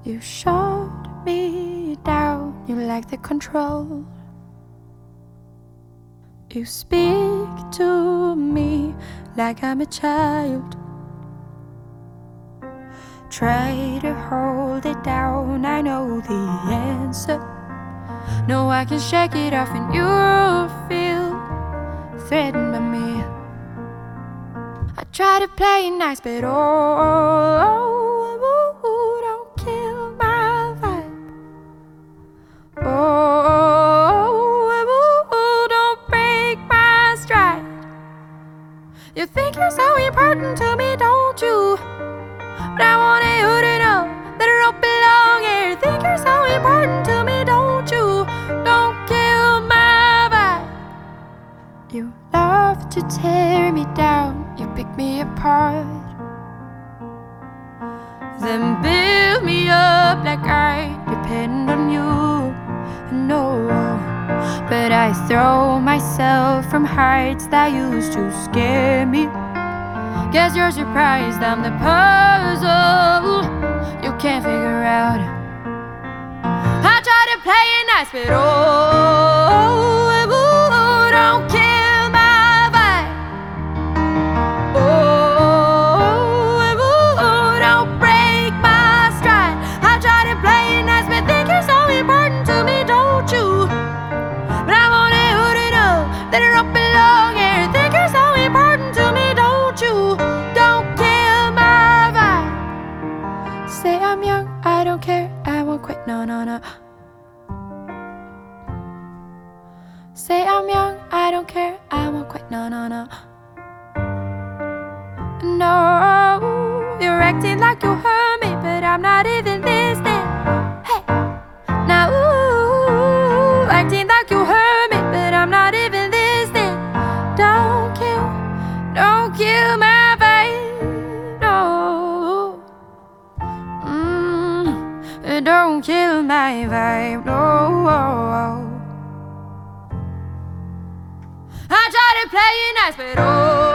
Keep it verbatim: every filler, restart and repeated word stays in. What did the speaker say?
You shut me down, you lack the control. You speak to me like I'm a child. Try to hold it down, I know the answer. No, I can shake it off and you feel threatened by me. I try to play it nice, but oh, don't kill my vibe. Oh, don't break my stride. You think you're so important to me, don't you? But I want you to know that I don't belong here. You think you're so important to me, don't you? Don't kill my vibe. You love to tear me down, you pick me apart, then build me up like I depend on you. No, but I throw myself from heights that used to scare me. Guess you're surprised I'm the puzzle you can't figure out. I try to play it nice, but oh, don't kill my vibe. Oh, don't break my stride. I try to play it nice, but think you're so important to me, don't you? But I want you to know that I don't belong here. Think you're so important to me, don't you? Don't kill my vibe. Say I'm young, I don't care, I won't quit, no, no, no. Say I'm young, I don't care, I won't quit, no, no, no. No, you're acting like you heard me, but I'm not even listening. Hey, now, ooh, acting like you heard me, but I'm not even listening. Don't kill, don't kill my vibe, no. Mm, don't kill my vibe, no. I try to play it nice, but oh,